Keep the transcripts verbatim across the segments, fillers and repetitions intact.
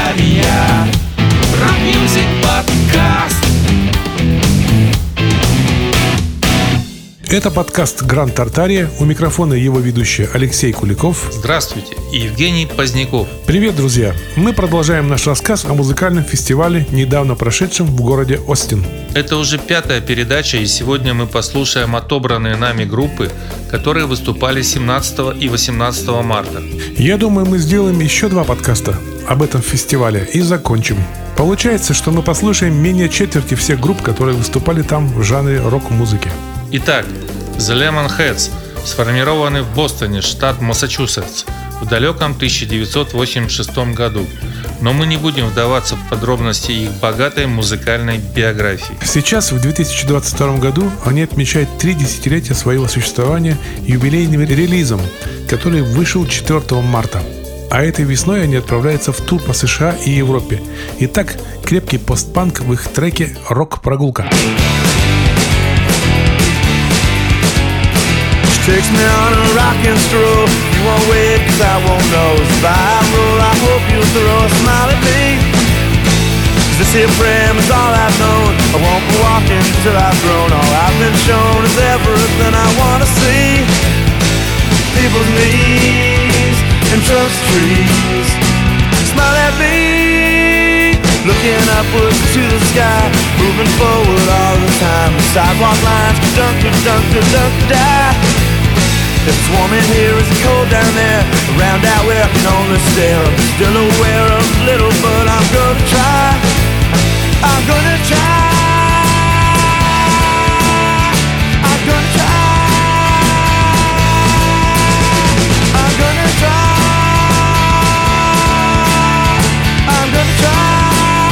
Тартария. Рок-мьюзик подкаст. Это подкаст «Гранд Тартария». У микрофона его ведущий Алексей Куликов. Здравствуйте, и Евгений Поздняков. Привет, друзья! Мы продолжаем наш рассказ о музыкальном фестивале, недавно прошедшем в городе Остин. Это уже пятая передача, и сегодня мы послушаем отобранные нами группы, которые выступали семнадцатого и восемнадцатого марта. Я думаю, мы сделаем еще два подкаста об этом фестивале и закончим. Получается, что мы послушаем менее четверти всех групп, которые выступали там в жанре рок-музыки. Итак, The Lemonheads сформированы в Бостоне, штат Массачусетс, в далеком тысяча девятьсот восемьдесят шестом году. Но мы не будем вдаваться в подробности их богатой музыкальной биографии. Сейчас, в две тысячи двадцать втором году, они отмечают три десятилетия своего существования юбилейным релизом, который вышел четвёртого марта. А этой весной они отправляются в тур по США и Европе. Итак, крепкий постпанк в их треке «Рок-прогулка». Takes me on a rockin' stroll. You won't wait cause I won't know. As I roll, I hope you'll throw a smile at me. Cause this here frame is all I've known. I won't be walking till I've grown. All I've been shown is everything I wanna see. People's knees and trust trees. Smile at me. Looking upwards to the sky. Moving forward all the time. The sidewalk lines dunk, dunk, dunk, die. If it's warm in here, is it cold down there? Around out where I can only stare. I'm still aware of little, but I'm gonna try. I'm gonna try. I'm gonna try. I'm gonna try. I'm gonna try.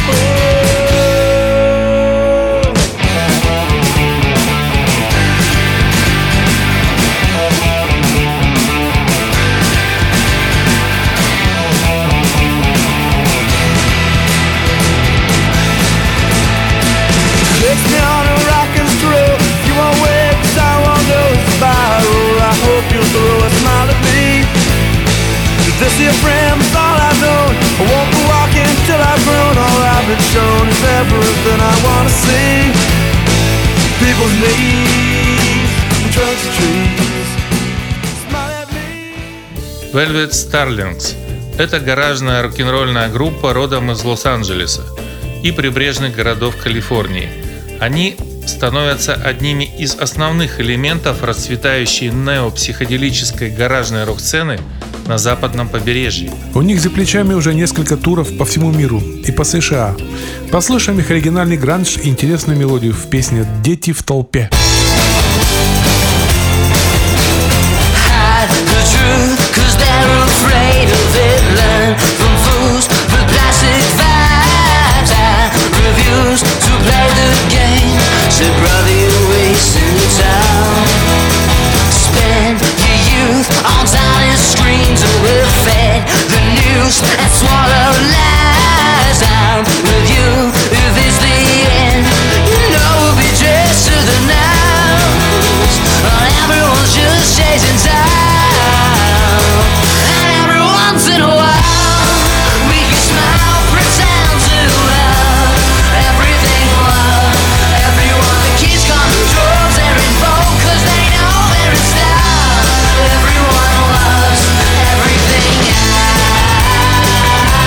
Takes me on a rockin' stroll. You won't wait cause I won't go spiral. I hope you'll throw a smile at me. This here frame is all I've known. I won't be walking till I've grown. All I've been shown is everything I wanna see. People's knees and trust trees. Smile at me. Velvet Starlings – это гаражная рок-н-ролльная группа родом из Лос-Анджелеса и прибрежных городов Калифорнии. Они становятся одними из основных элементов расцветающей неопсиходелической гаражной рок-сцены на западном побережье. У них за плечами уже несколько туров по всему миру и по США. Послушаем их оригинальный гранж и интересную мелодию в песне «Дети в толпе». Say, brother, you're wasting time. Spend your youth on tiny screens, and we're fed the news and swallow lies. I'm with you if it's the end. You know we'll be dressed to the nines. Everyone's just chasing time, and every once in a while we can smile, pretend to love everything love. Kids come to drugs and revolt cause they know they're in style. Everyone loves everything else.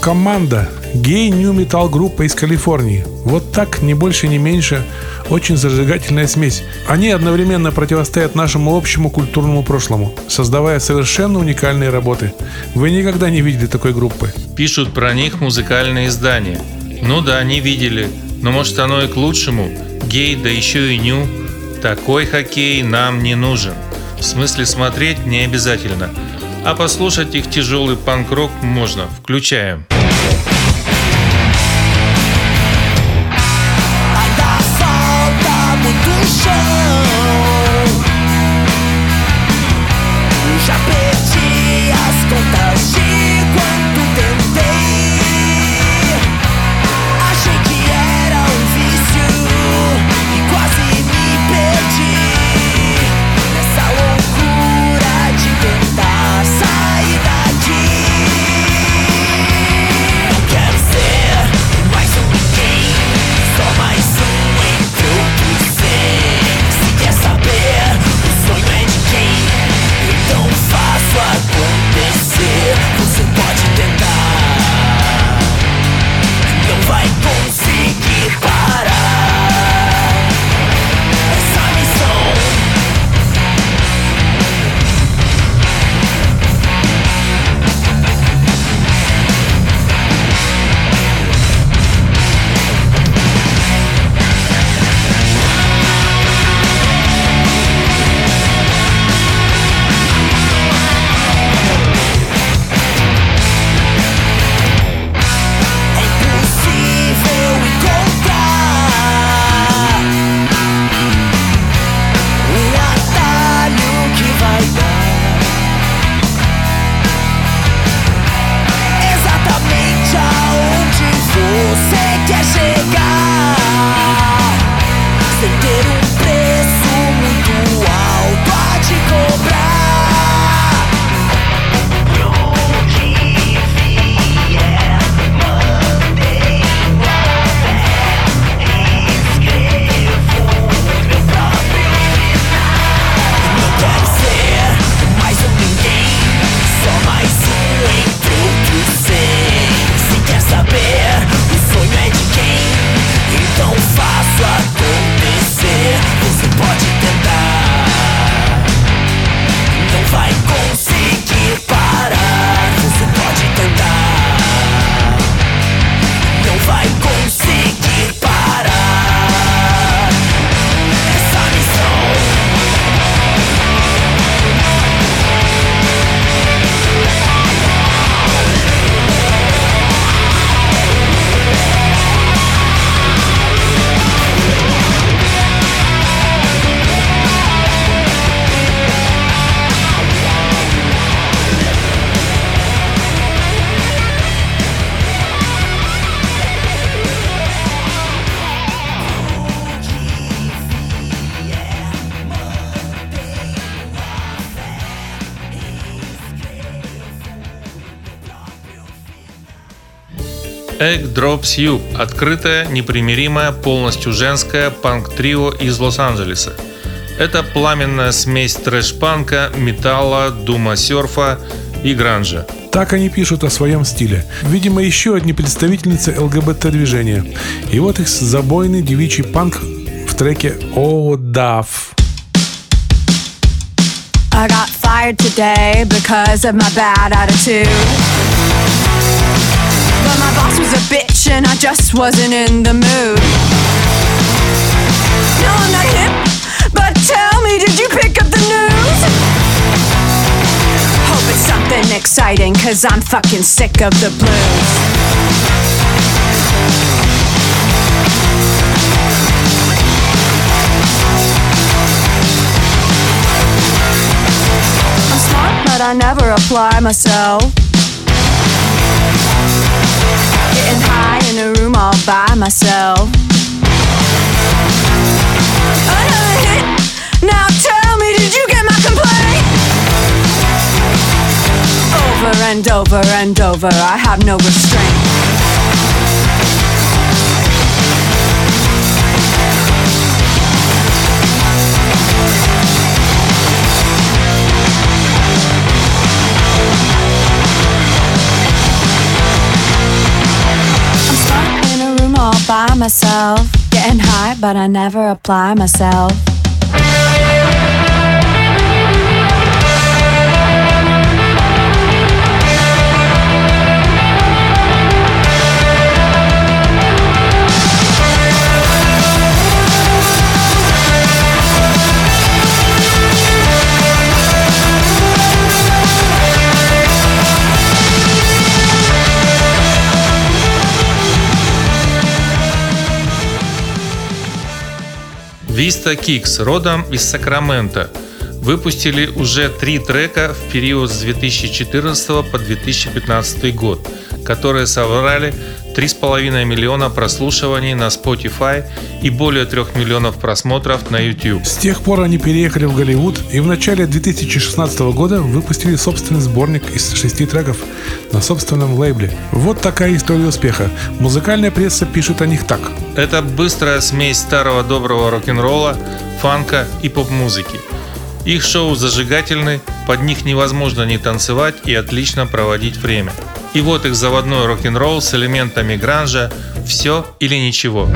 Команда – гей-нью-метал группа из Калифорнии. Вот так, ни больше, ни меньше, очень зажигательная смесь. Они одновременно противостоят нашему общему культурному прошлому, создавая совершенно уникальные работы. Вы никогда не видели такой группы. Пишут про них музыкальные издания. Ну да, не видели. Но может оно и к лучшему. Гей, да еще и ню. Такой хоккей нам не нужен. В смысле, смотреть не обязательно. А послушать их тяжелый панк-рок можно. Включаем. Egg Drops You – открытое, непримиримое, полностью женское панк-трио из Лос-Анджелеса. Это пламенная смесь трэш-панка, металла, дума-серфа и гранжа. Так они пишут о своем стиле. Видимо, еще одни представительницы ЛГБТ-движения. И вот их забойный девичий панк в треке «Oh, Duff». I got fired today because of my bad attitude. But my boss was a bitch and I just wasn't in the mood. No, I'm not hip, but tell me, did you pick up the news? Hope it's something exciting, cause I'm fucking sick of the blues. I'm smart, but I never apply myself. Getting high in a room all by myself. Another hit. Now tell me, did you get my complaint? Over and over and over, I have no restraint. myself. Getting high, but I never apply myself. Vista Kicks, родом из Сакрамента, выпустили уже три трека в период с две тысячи четырнадцатого по две тысячи пятнадцатый год, которые собрали три с половиной миллиона прослушиваний на Spotify и более трех миллионов просмотров на YouTube. С тех пор они переехали в Голливуд и в начале две тысячи шестнадцатого года выпустили собственный сборник из шести треков на собственном лейбле. Вот такая история успеха. Музыкальная пресса пишет о них так. Это быстрая смесь старого доброго рок-н-ролла, фанка и поп-музыки. Их шоу зажигательны, под них невозможно не танцевать и отлично проводить время. И вот их заводной рок-н-ролл с элементами гранжа «Все или ничего».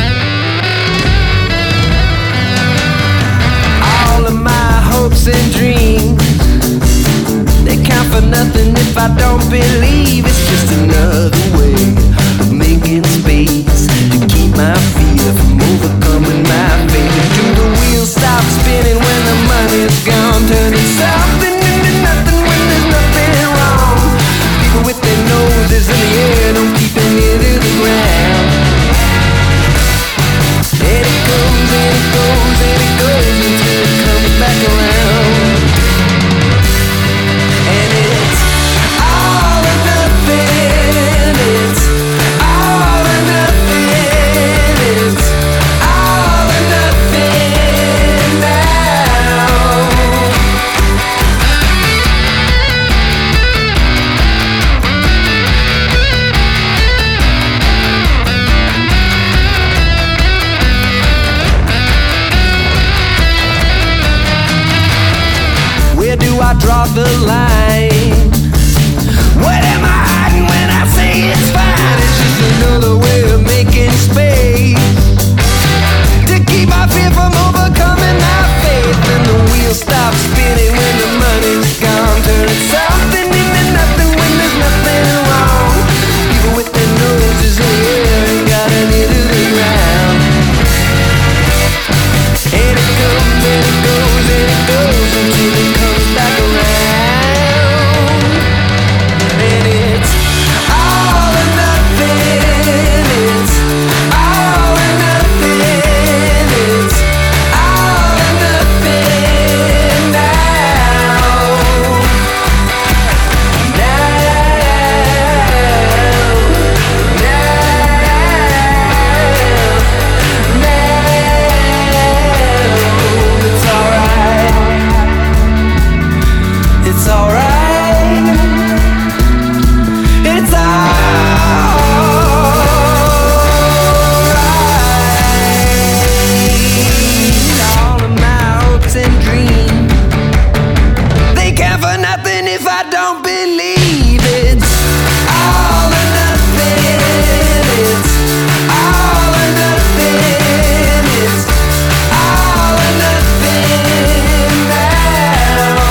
All of my hopes and dreams, they count for nothing if I don't believe. It's just another way of making space to keep my fear from overcoming my fate. Do the wheels stop spinning when the money's gone, turning something into nothing when there's nothing wrong? People with their noses in the air don't keep an ear to the ground. And it goes and it goes and it goes until it comes back around. And it's all or nothing. It's all or nothing. It's all or nothing now. Where do I draw the line? What am I hiding when I say it's fine? It's just another way of making space to keep my fear from overcoming my faith. And the wheels stop spinning when the money's gone, turning something into nothing when there's nothing wrong. People with their noses in the air ain't got an ear to the ground. And it comes and it goes and it goes until it comes back around. And it's all or nothing. It's all or nothing. It's all or nothing now. It's alright. It's alright. All of my hopes and dreams, they count for nothing if I don't believe. It's all or nothing. It's all or nothing. It's all or nothing now.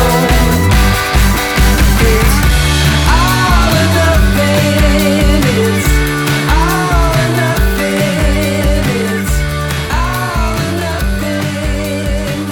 It's all or nothing. It's all or nothing. It's all or nothing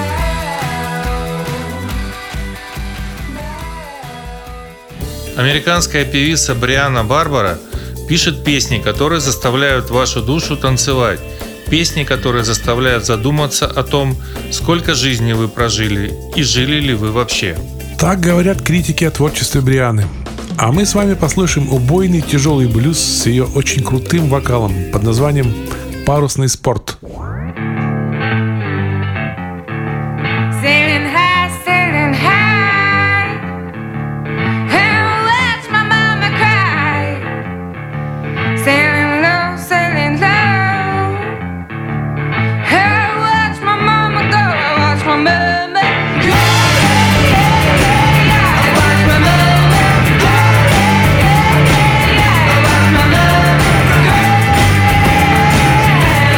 now. Американская певица Брианна Барбара пишет песни, которые заставляют вашу душу танцевать. Песни, которые заставляют задуматься о том, сколько жизни вы прожили и жили ли вы вообще. Так говорят критики о творчестве Брианны. А мы с вами послушаем убойный тяжелый блюз с ее очень крутым вокалом под названием «Парусный спорт». Sailing high, sailing high, and watch my mama cry. Sailing low, sailing low, and watch my mama go. Watch my mama go. Watch my mama go. Watch my mama go.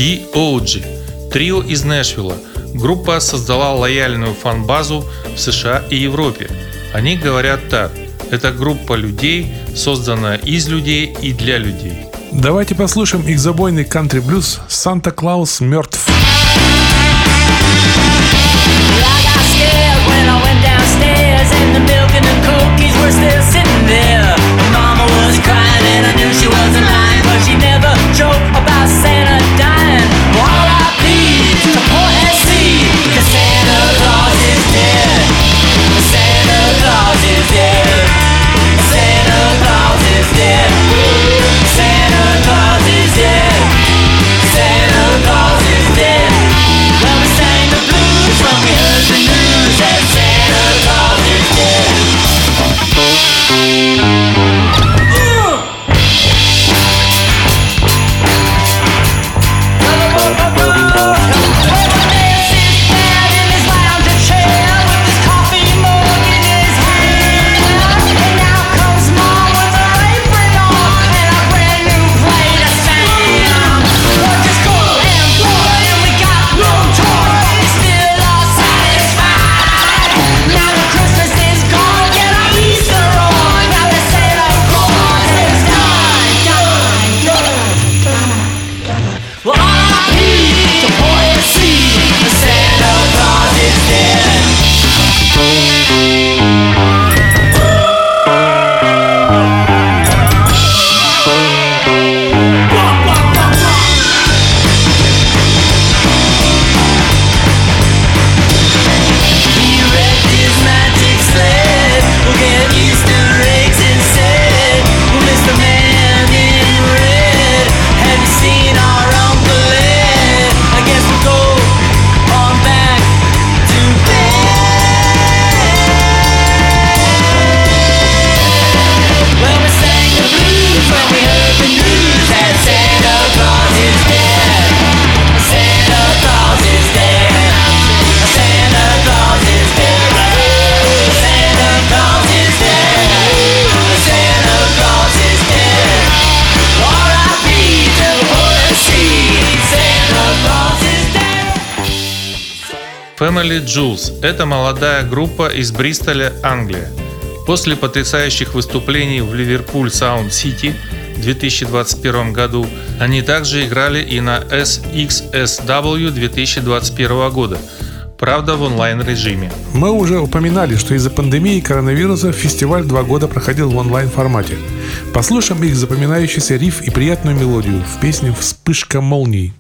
ди о джи – трио из Нэшвилла. Группа создала лояльную фан-базу в США и Европе. Они говорят так: это группа людей, созданная из людей и для людей. Давайте послушаем их забойный кантри-блюз «Санта-Клаус мертв». Family Jewels – это молодая группа из Бристоля, Англия. После потрясающих выступлений в Ливерпуль Саунд Сити в две тысячи двадцать первом году они также играли и на эс икс эс дабл ю две тысячи двадцать первого года, правда в онлайн-режиме. Мы уже упоминали, что из-за пандемии коронавируса фестиваль два года проходил в онлайн-формате. Послушаем их запоминающийся риф и приятную мелодию в песне «Вспышка молний».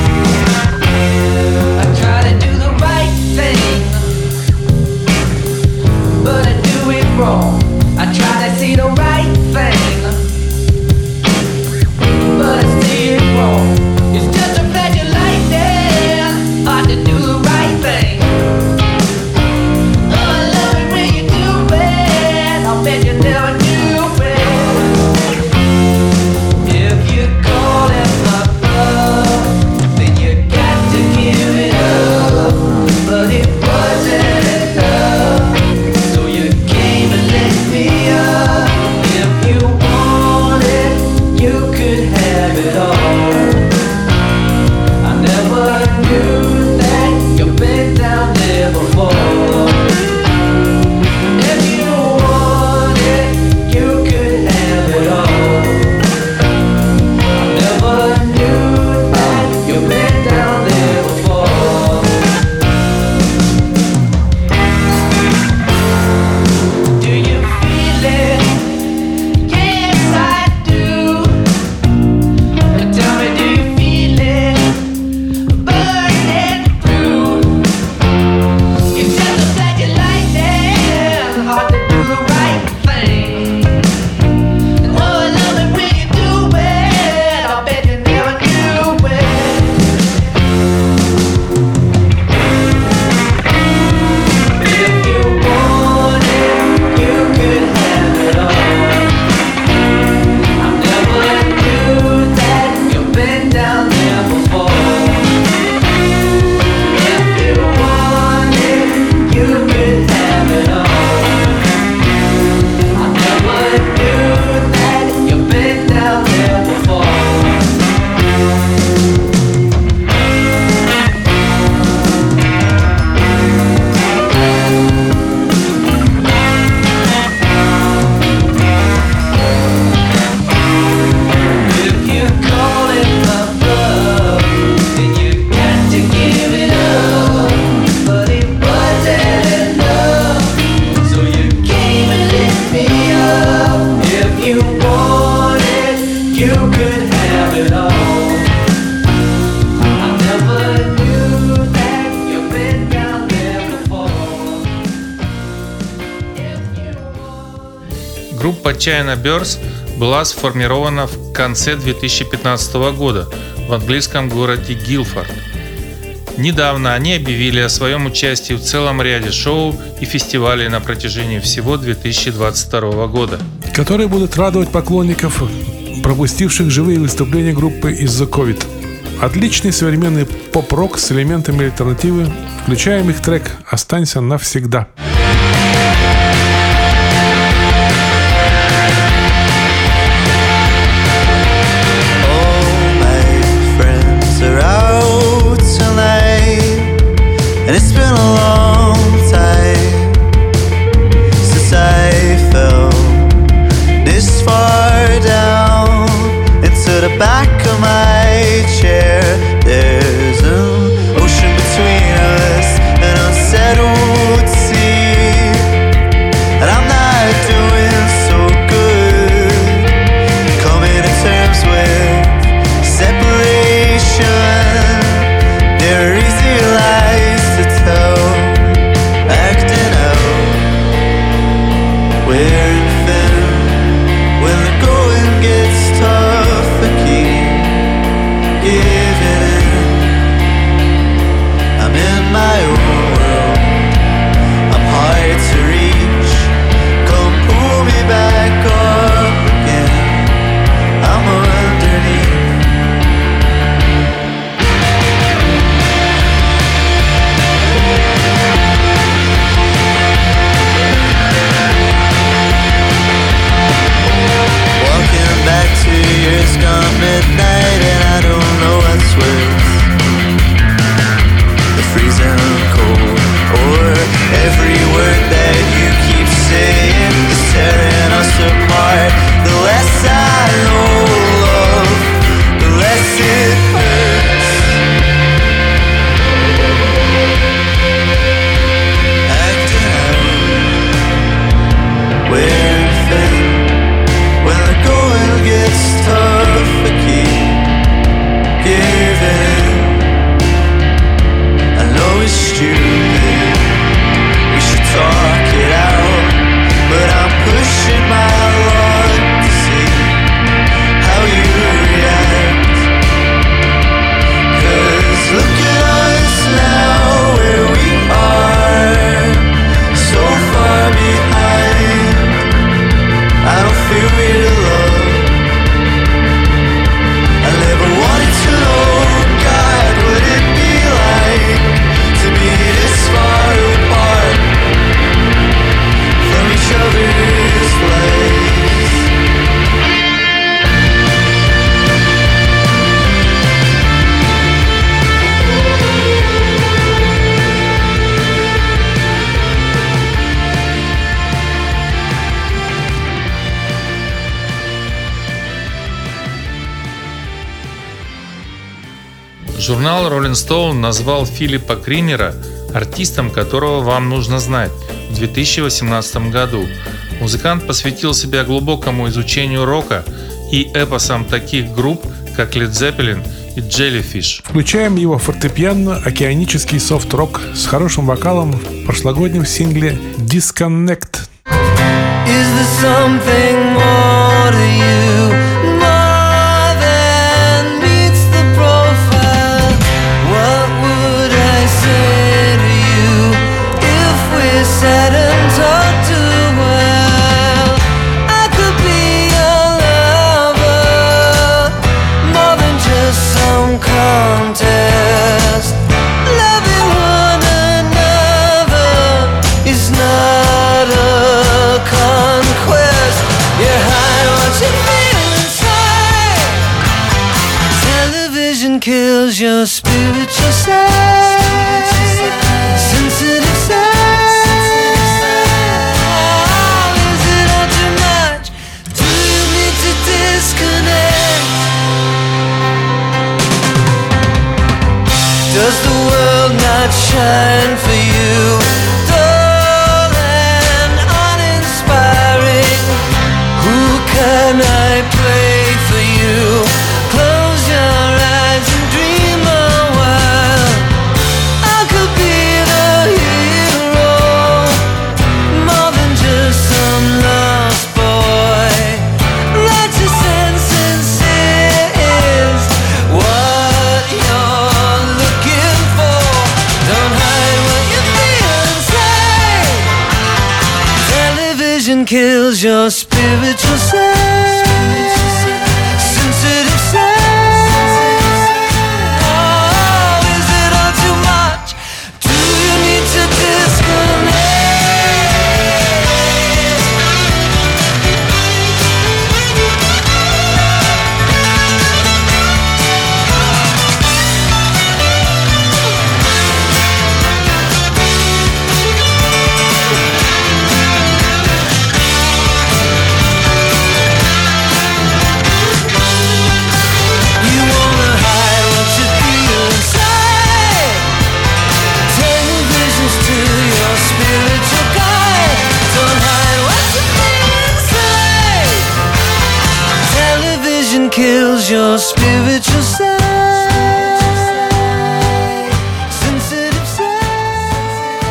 Wrong. I try to see the right thing, but I see it wrong. It's just a flash of lightning, hard to do the right thing. Oh, I love it when you do it, I'll bet you never knew it. If you call it love, Группа China Birds была сформирована в конце две тысячи пятнадцатого года в английском городе Гилфорд. Недавно они объявили о своем участии в целом ряде шоу и фестивалей на протяжении всего две тысячи двадцать второго года, которые будут радовать поклонников, пропустивших живые выступления группы из-за ковид. Отличный современный поп-рок с элементами альтернативы. Включаем их трек «Останься навсегда». And it's been a long time since I fell this far down into the back of my chair. There's an ocean between us, an unsettled sea, and I'm not doing so good coming to terms with separation. There are easy lies acting out, wearing thin when the going gets tough. I keep giving in. I'm in my own world, I'm hard to reach. Come pull me back up again, I'm underneath. Back to years gone midnight, and I don't know what's worse, the freezing cold or every word that you keep saying is tearing us apart. The less I know love, the less it hurts. Acting out, wearing thin when the going gets tough. I keep giving in. I know it's stupid, we should talk it out, but I'm pushing my luck to see how you react. 'Cause look at us now, where we are, so far behind. I don't feel real love. I never wanted to know, God, would it be like to be this far apart from each other's place? Журнал Rolling Stone назвал Филиппа Кринера артистом, которого вам нужно знать, в две тысячи восемнадцатом году. Музыкант посвятил себя глубокому изучению рока и эпосам таких групп, как Led Zeppelin и Jellyfish. Включаем его фортепиано-океанический софт-рок с хорошим вокалом в прошлогоднем сингле «Disconnect». Is there something more to you, more than meets the profile? What would I say to you if we sat and talked a while? I could be your lover, more than just some contest. Loving one another is not a conquest. You're high, what you feel inside. Television kills your spiritual side, sensitive side. Is it all too much? Do you need to disconnect? Does the world not shine for you? Dull and uninspiring. Who can I play for you? Close your eyes and dream a while. I could be the hero, more than just some lost boy. kills your spiritual side. Sensitive side. Oh, is it all too much? Do you need to disconnect? Kills your spiritual side. Sensitive side.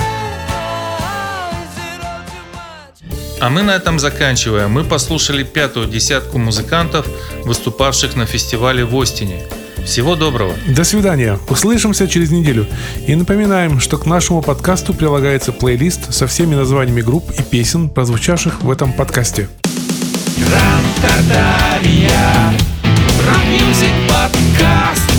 Is it all too much? А мы на этом заканчиваем. Мы послушали пятую десятку музыкантов, выступавших на фестивале в Остине. Всего доброго. До свидания. Услышимся через неделю. И напоминаем, что к нашему подкасту прилагается плейлист со всеми названиями групп и песен, прозвучавших в этом подкасте. Гран-Катария, Рок Мьюзик Подкаст.